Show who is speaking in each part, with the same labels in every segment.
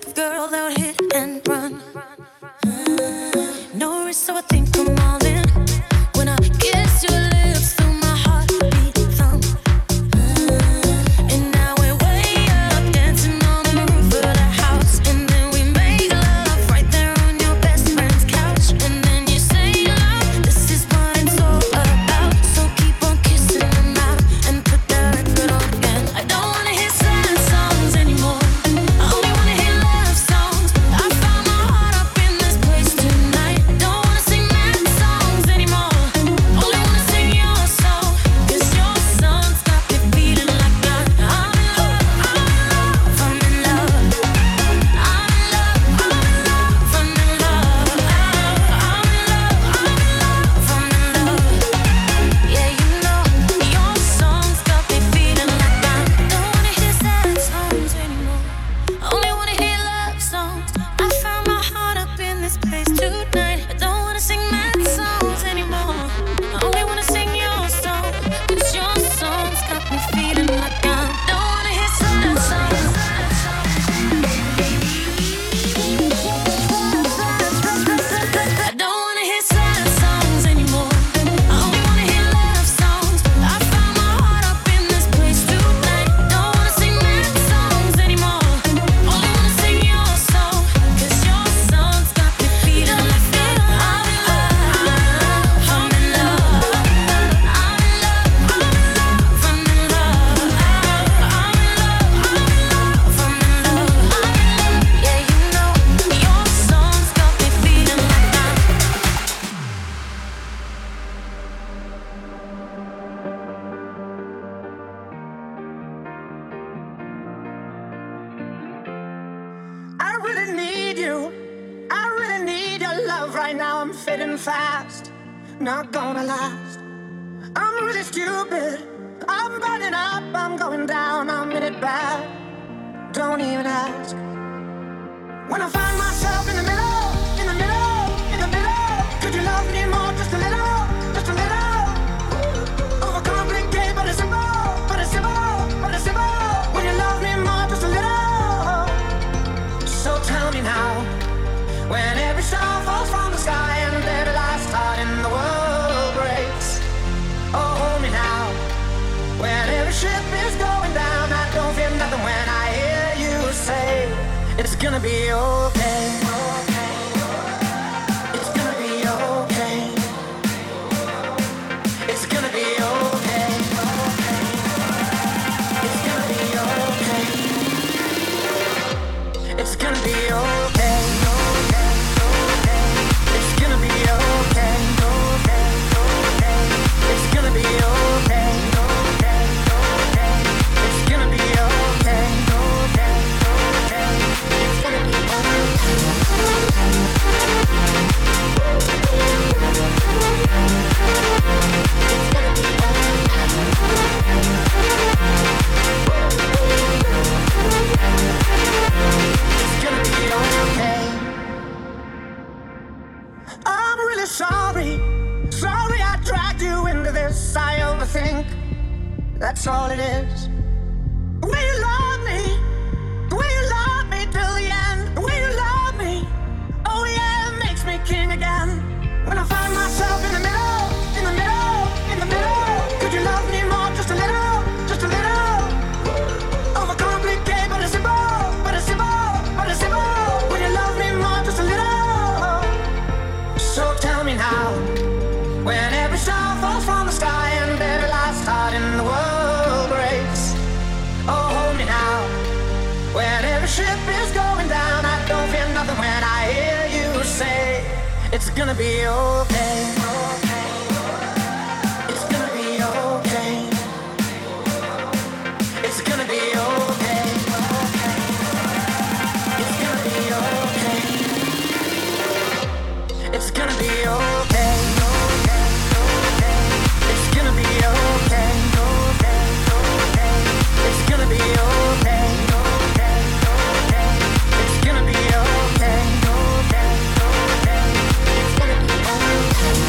Speaker 1: girl that would hit and run. No risk, so I think I'm all in. When I kiss your lips, feel my heartbeat thump. And now we're way up, dancing on the roof of the house. And then we make love right there on your best friend's couch. And then you say, love, this is what it's all about. So keep on kissing them out and put that record on again. I don't wanna hear sad songs anymore. I only wanna hear love songs. I found my heart up in this place tonight. Don't wanna sing mad songs anymore. Only wanna sing your song. 'Cause your song's got me feeling like I'm in love, I'm in love, I'm in love, I'm in love, I'm in love, I'm in love, I'm in love, I'm in love. Yeah, you know, your song's got me feeling like I don't wanna hear sad songs anymore. I only wanna hear love songs. I found my heart up in this place tonight. I don't wanna sing mad songs anymore. I only wanna sing your song. 'Cause your song's got me feeling like I don't wanna hear sad songs. I don't wanna hear sad songs anymore. I only wanna hear love songs. I found my heart up in this place tonight. Don't wanna sing mad songs anymore. Only wanna sing your song. 'Cause your song's got me feeling like I'm in love, I'm in love, I'm in love, I'm in love, I'm in love, I'm in love, I'm in love. Yeah, you know, your song's got me feeling like
Speaker 2: I really need you. I really need your love right now. I'm fading fast, not gonna last. I'm really stupid. I'm burning up, I'm going down, I'm in it bad. Don't even ask. When I find myself in the middle, in the middle, in the middle, could you love me more, just a little, just a little? Overcomplicate, but it's simple, but it's simple, but it's simple. When you love me more, just a little. So tell me now, when every star falls from the sky and every last heart in the world breaks. Oh, hold me now, when every ship is going down. I don't feel nothing when I hear you say it's gonna be okay. It's gonna be okay. It's gonna be okay. It's gonna be okay. It's gonna be okay. It's gonna be okay. It's gonna be okay. It's gonna be okay. It's gonna be okay. I'm really sorry. Sorry I dragged you into this. I overthink. That's all it is. The way you love me. The way you love me till the end. The way you love me. Oh yeah, it makes me king again. When I find myself in the middle, in the middle, in the middle. Could you love me more, just a little, just a little? Overcomplicate, but it's simple, but it's simple, but it's simple. When you love me more, just a little. So tell me now, when every star falls from the sky and every last heart in the world breaks. Oh, hold me now, when every ship is going down. I don't feel nothing when I hear you say it's gonna be okay. It's gonna be okay. It's gonna be okay. It's gonna be okay. It's gonna be okay. It's gonna be okay. It's gonna be okay. It's gonna be okay. It's gonna be okay.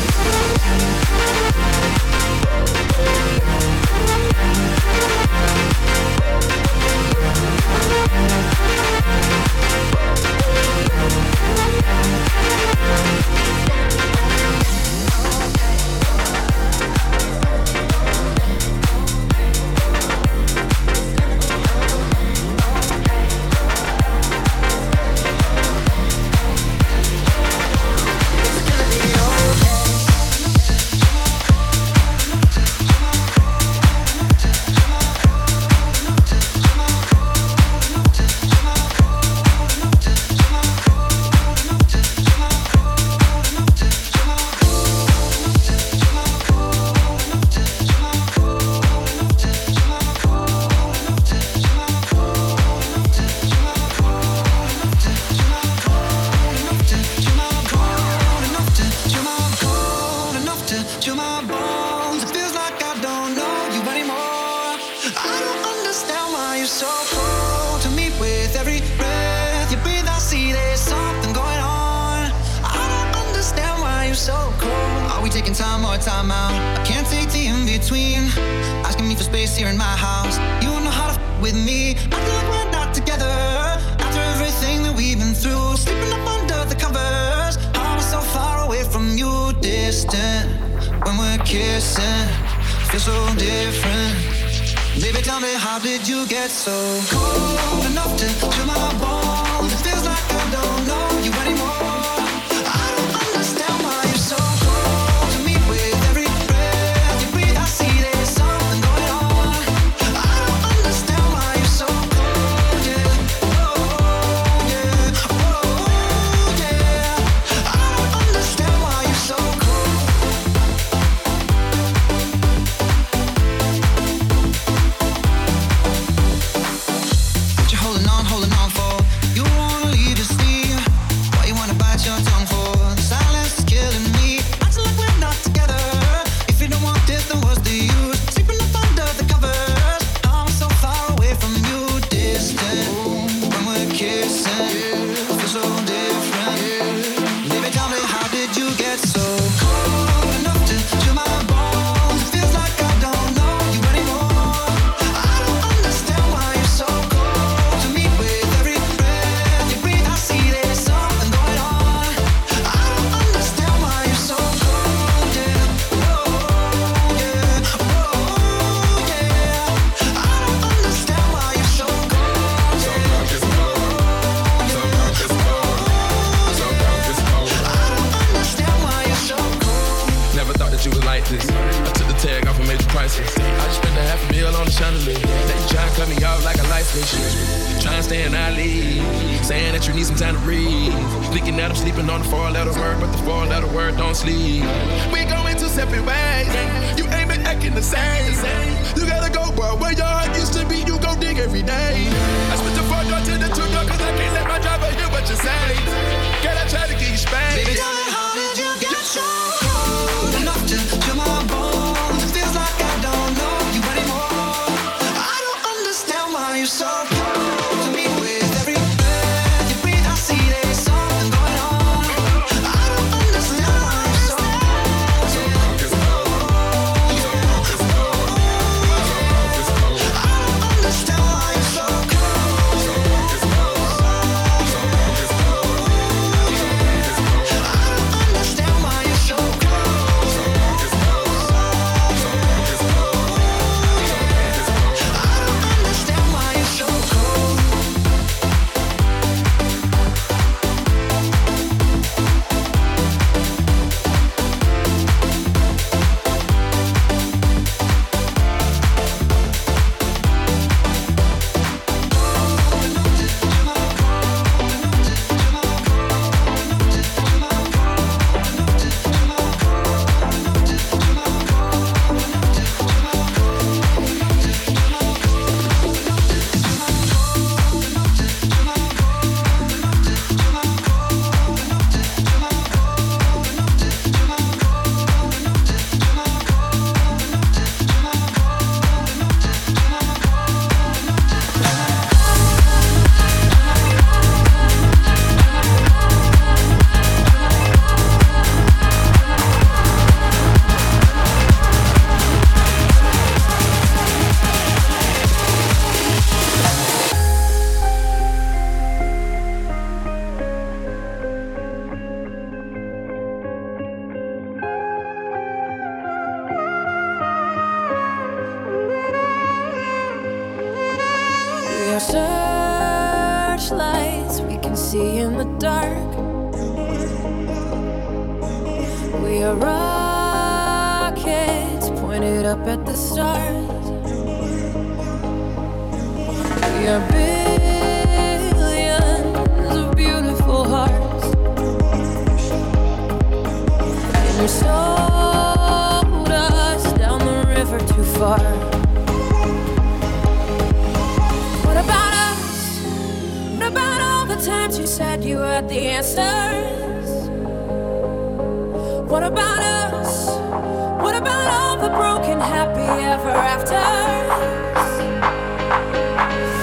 Speaker 2: you're so cold to me with every breath you breathe. I see there's something going on. I don't understand why you're so cold. Are we taking time or time out? I can't take the in-between. Asking me for space here in my house. You don't know how to with me. I feel like we're not together after everything that we've been through. Sleeping up under the covers. I'm so far away from you, distant. When we're kissing, feel so different. Baby, tell me, how did you get so cold enough to chill my bones? It feels like I don't know you anymore. I don't understand why you're so cold to me with every breath you breathe. I see there's something going on. I don't understand why you're so cold, yeah. Oh, yeah. Oh, yeah. I don't understand why you're so cold. Holding on for. You wanna leave your sleep. Why you wanna bite your tongue for? The silence is killing me. Acting like we're not together. If you don't want this, then what's the use? Sleeping up under the covers. I'm so far away from you, distant. When we're kissing, feel so different. Baby, tell me, how did you get so cold enough to chill my bones? It feels like I don't know you anymore. I don't understand why you're so cold to me with every breath you breathe. I see there's something going on. I don't understand why you're so cold, yeah. Oh, yeah. Oh, yeah. I don't understand why you're so cold, yeah. I don't understand why you're so cold.
Speaker 3: Never thought that you was like this. I took the tag off and made you priceless. I just spent $500,000 on the chandelier. Now you tryna cut me off like a light switch. Tryna stay in our league. Saying that you need some time to breathe. Thinking that I'm sleeping on the 4-letter word, but the 4-letter word don't sleep. We going two separate ways. You ain't been acting the same. You gotta go, bro. Where your heart used to be, you go dig every day. I split the 4 door to the 2 door, cause I can't let my driver hear what you say. Girl, I try to get you spanked.
Speaker 2: Baby, tell me, how did you get so cold enough to chill my bones? It feels like I don't know you anymore. I don't understand why you're so cold to me with every breath you breathe. I see there's something going on. I don't understand why you're so cold. I don't understand why you're so cold. Understand why you're so close. I don't understand why you're so cold.
Speaker 1: We are searchlights we can see in the dark. We are rockets pointed up at the stars. We are billions of beautiful hearts. And you sold us down the river too far. What about us? What about all the times you said you had the answers? What about us? What about all the broken happy ever afters?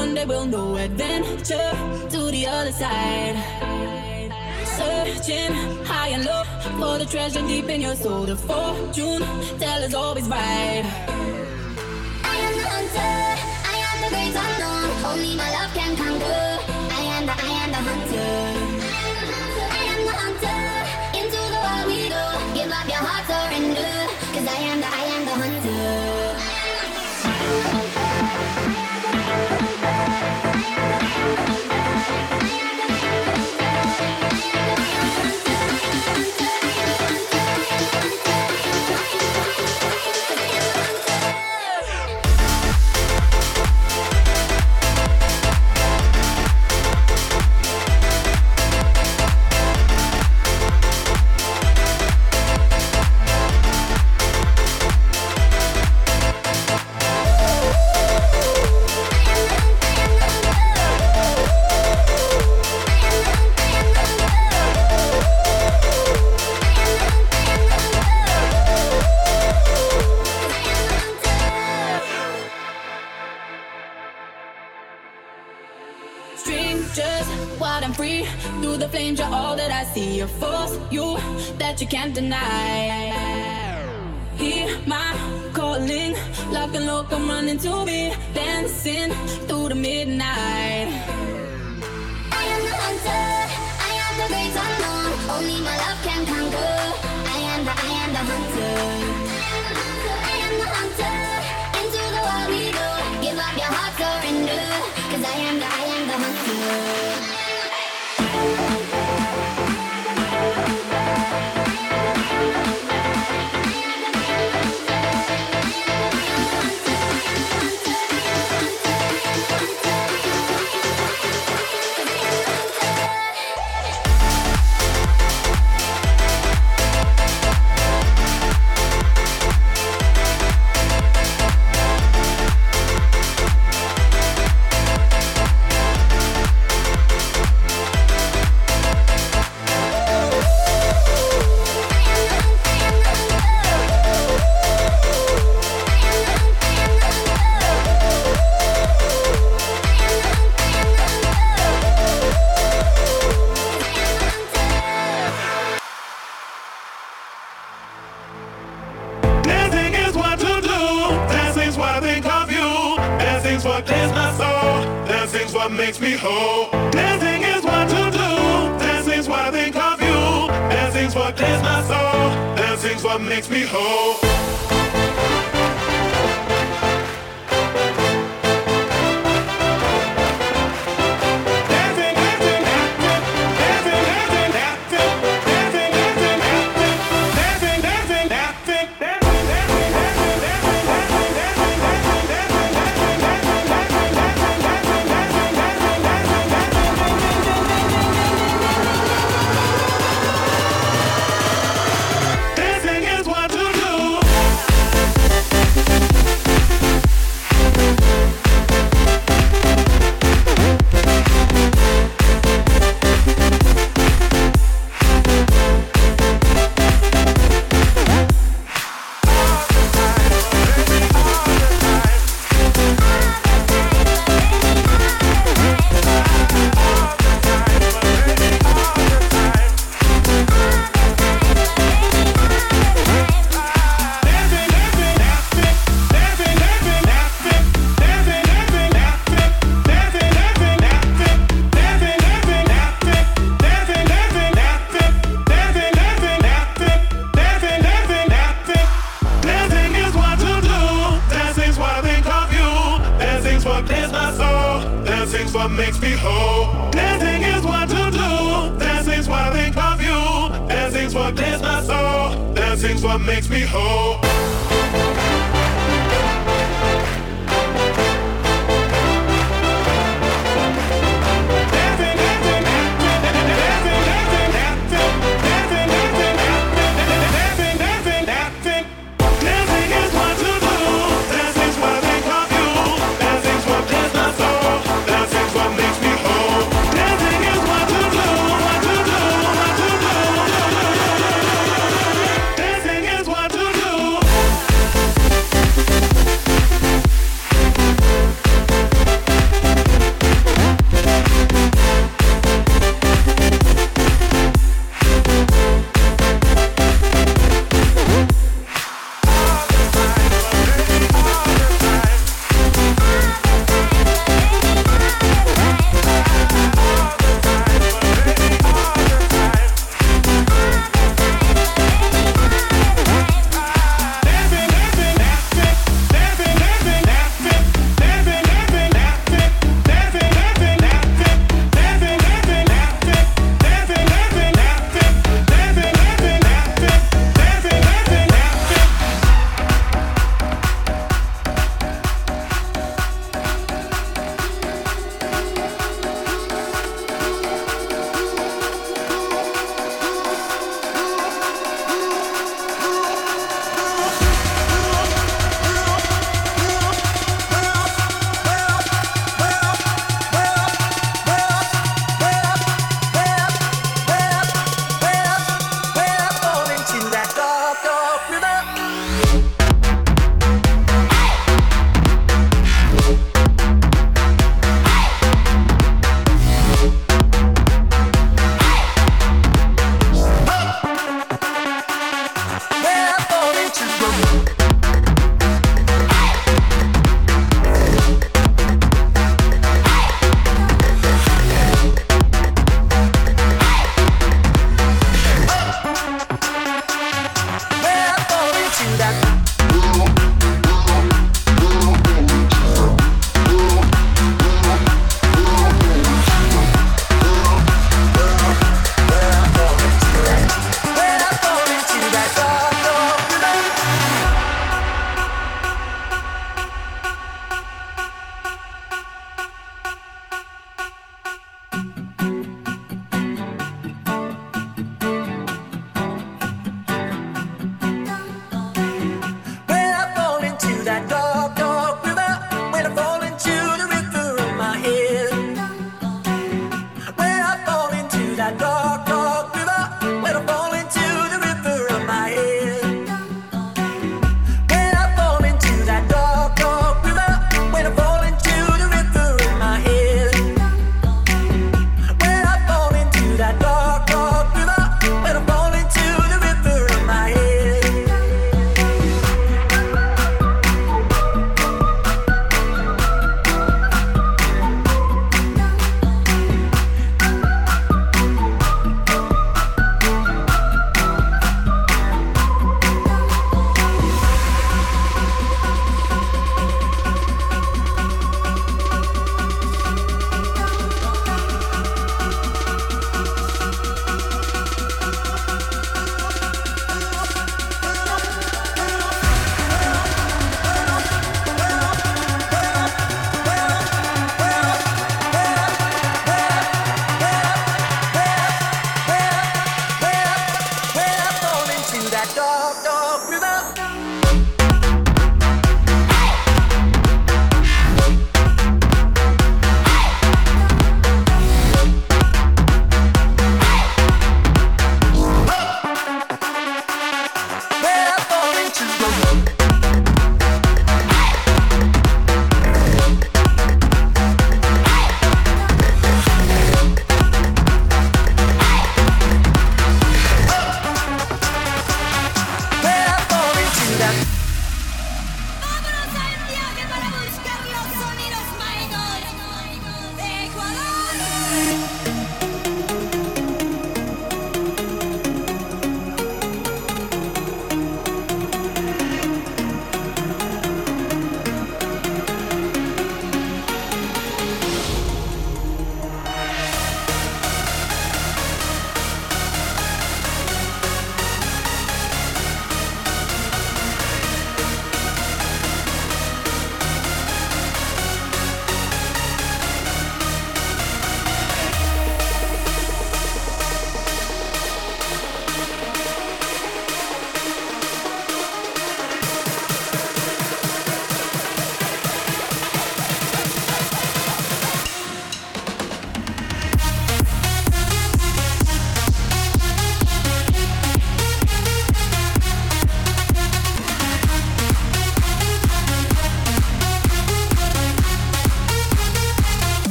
Speaker 4: one day we'll know adventure to the other side. Searching high and low for the treasure deep in your soul. The fortune teller's always right.
Speaker 5: I am the hunter, I am the great unknown. Only my love can conquer. I am the hunter. I am the hunter. Into the wild we go. Give up your heart, surrender. 'Cause I am the hunter.
Speaker 4: Wild and free, through the flames you're all that I see. A force you that you can't deny. Hear my calling, lock and low, come running to me, dancing through the midnight.
Speaker 5: I am the hunter, I am the great unknown. Only my love can conquer. I am the hunter. I am the hunter. Into the wild we go. Give up your heart, surrender. 'Cause I am the hunter.
Speaker 6: Makes me whole. Dancing is what to do. Dancing's what I think of you. Dancing's what clears my soul. Dancing's what makes me whole.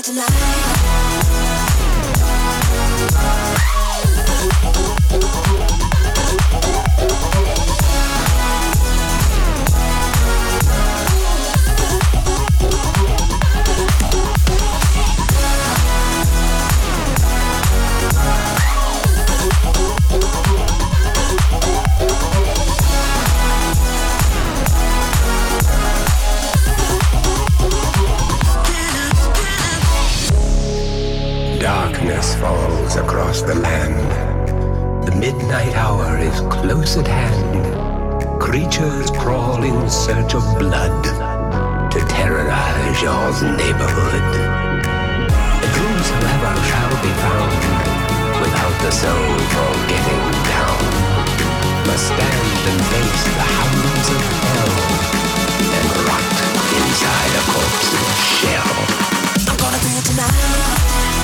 Speaker 7: Darkness falls across the land. The midnight hour is close at hand. Creatures crawl in search of blood to terrorize your neighborhood. Whosoever shall be found without the soul for getting down must stand and face the hounds of hell and rot inside a corpse's shell. I'm gonna do it tonight.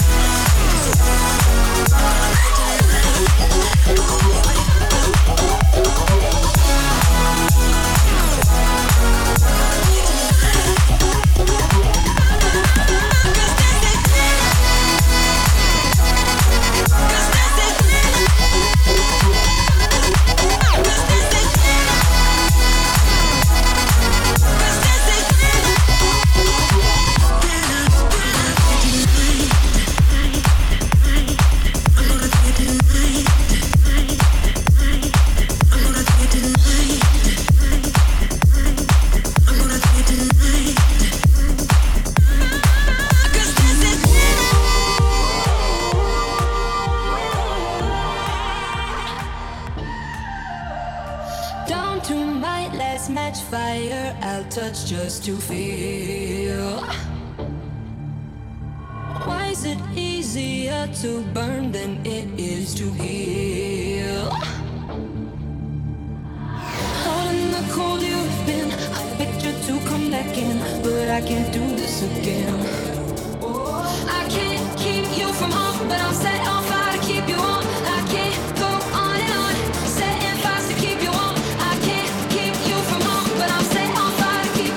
Speaker 4: Touch just to feel. Why is it easier to burn than it is to heal? Out in the cold you've been, I begged you to come back in, but I can't do this again. I can't keep you from home, but I'm set on fire to keep you on. I can't go on and on, setting fires to keep you on. I can't keep you from home, but I'm set on fire.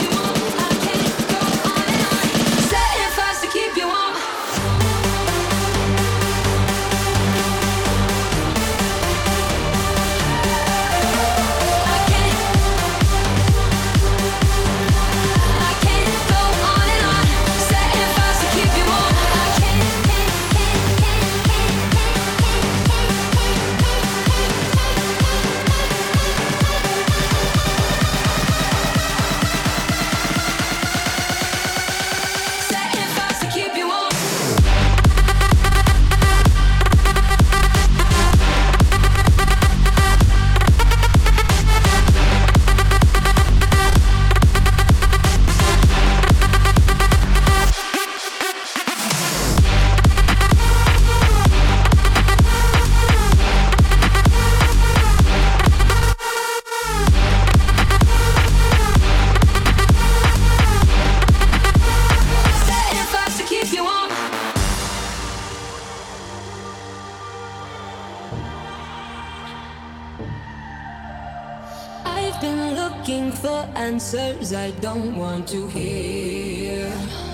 Speaker 4: Answers I don't want to hear.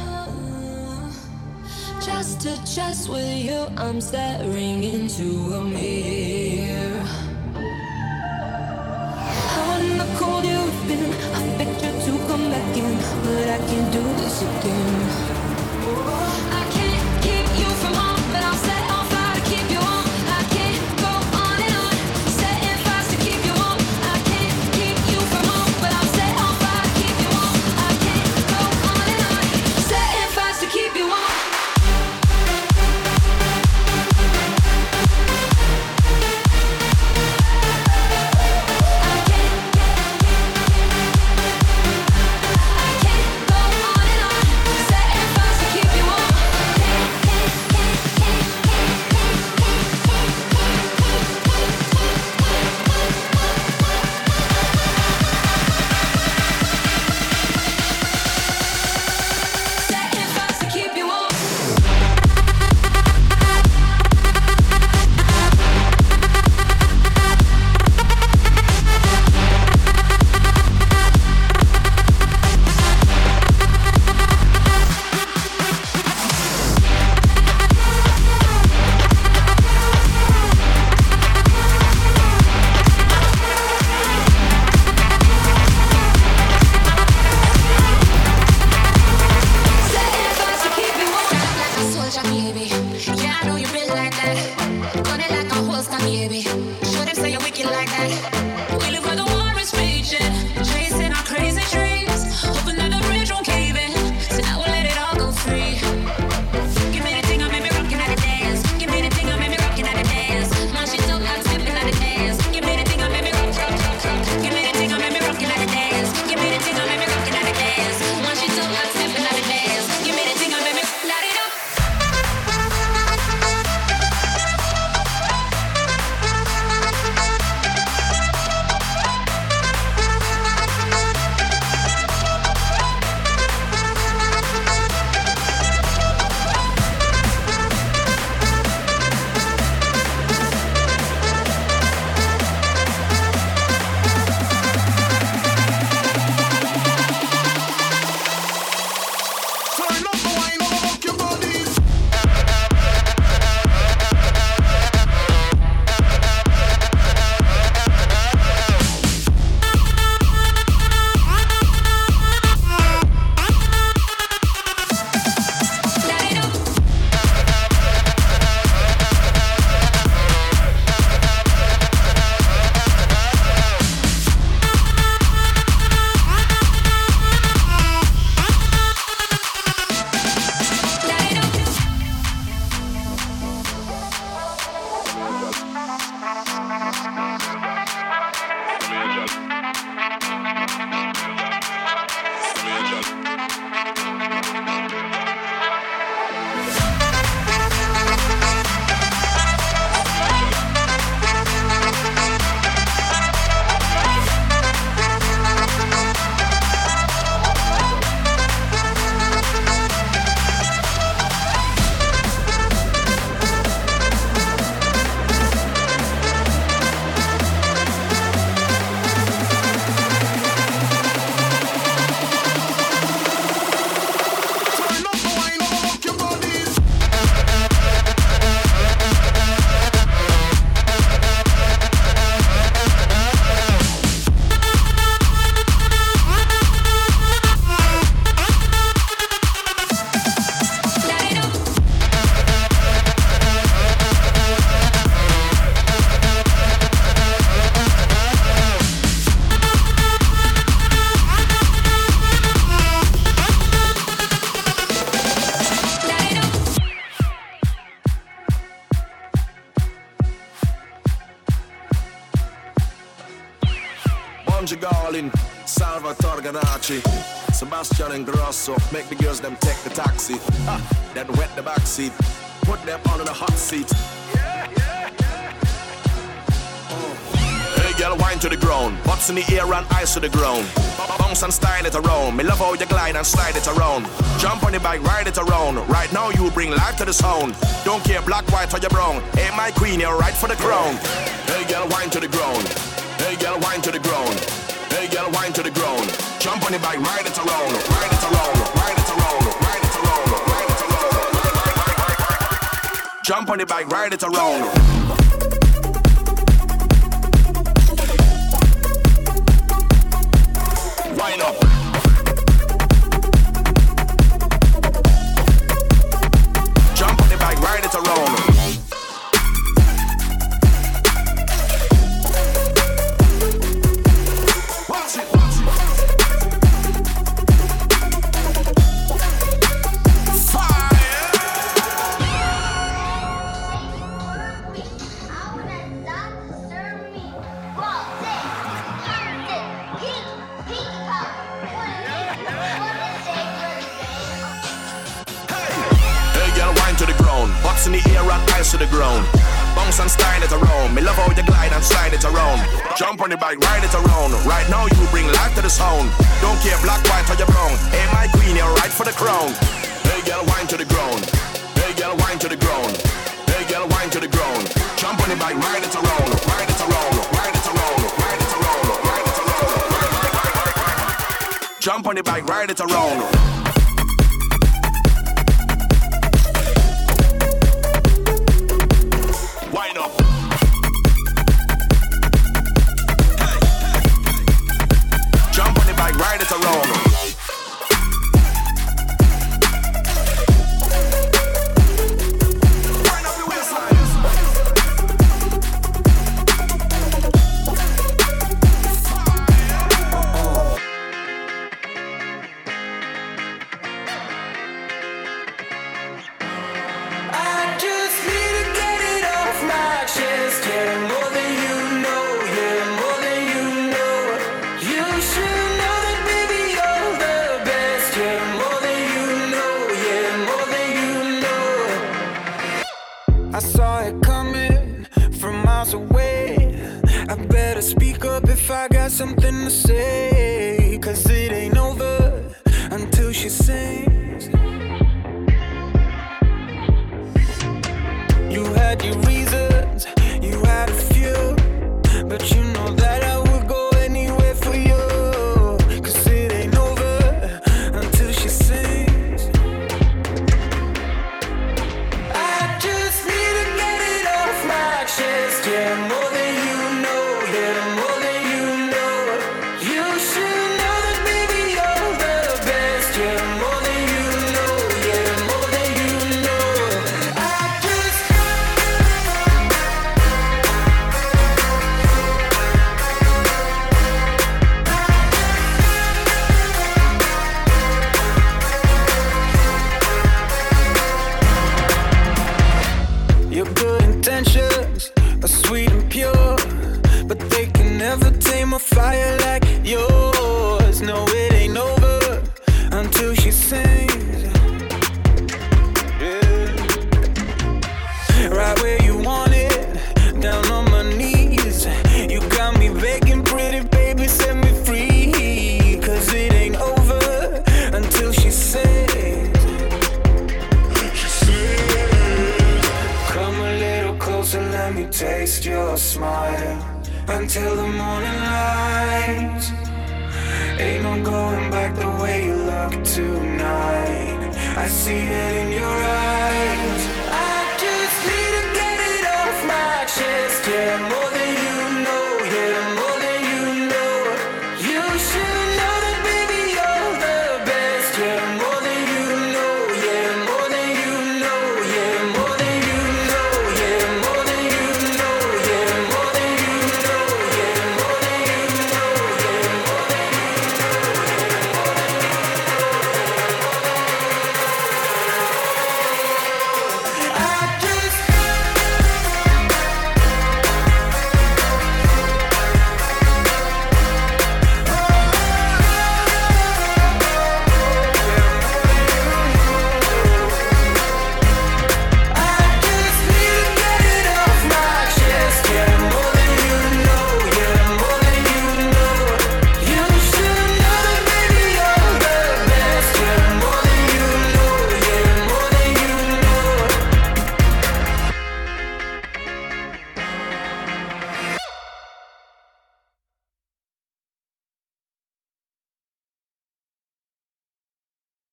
Speaker 4: Just to chest with you, I'm staring into a mirror. Out in the cold you've been, I begged you to come back in, but I can't do this again. I can't keep you from home, but I'm set on fire to keep you on. I can't go on and on, setting fires to keep you on. I can't keep you from home, but I'm set on fire to keep you on. I can't go on and on, setting fires to keep you on. I can't go on and on, setting
Speaker 1: your baby. Yeah, I know you been like that. Gun it like a holster, baby. Show them say you're wicked like that. We live where the war is raging, chasing our crazy dreams, hoping that the bridge won't cave in. So now we'll let it all go free. Give me the thing, I made me rockin' at the dance. Give me the thing, I made me rockin' at the dance. Now she's so hot, stepping at the dance. Give me the thing, I made me rock, rock, rock, rock. Give me the thing, I made me rockin' at the dance. Give me the thing, I made me rockin' at the dance. Now she's so hot, stepping at the dance. Give me the thing, I made me light it up.
Speaker 8: Garlin, Salvatore Ganacci, Sebastian Ingrosso, make the girls them take the taxi, then wet the backseat, put them on in the hot seat. Hey girl, wine to the ground, butts in the air and eyes to the ground. Bounce and style it around, me love how you glide and slide it around. Jump on the bike, ride it around. Right now you bring life to the sound. Don't care black, white or you brown. Hey my queen, you're right for the crown. Hey girl, wine to the ground. Hey girl, wine to the ground. Hey girl, wine to the ground. Jump on the bike, ride it around. Ride it around, ride it around, ride it around, ride it around. Jump on the bike, ride it around. Wind up. Jump on the bike, ride it around. In the air and eyes to the ground. Bounce and style it around. Me love how you glide and slide it around. Jump on the bike, ride it around. Right now you bring life to the sound. Don't care black, white or you brown. Hey my queen, you're right for the crown. Hey girl, wine to the ground. Hey girl, wine to the ground. Hey girl, wine to the ground. Jump on the bike, ride it around. Ride it around. Ride it around. Ride it around. Ride it around. Jump on the bike, ride it around. Ride it around.
Speaker 9: I saw it coming from miles away. I better speak up if I got something to say, 'cause it ain't over until she sings. You had your reasons, you had a few, but you know that I would go anywhere for you, 'cause it ain't over until she sings. I just need to get it off my chest, yeah, more than you know, yeah, more than you know. You should know that baby you're the best, yeah, more than you know, yeah, more than you know. I just your good intentions are sweet and pure, but they can never tame a fire like yours. No, it ain't over until she sings. Yeah. Right where you want it, down on my knees. You got me begging, pretty baby, set me free, 'cause it ain't over until she sings. Come a little closer, let me taste your smile until the morning light. Ain't no going back the way you look tonight. I see it in your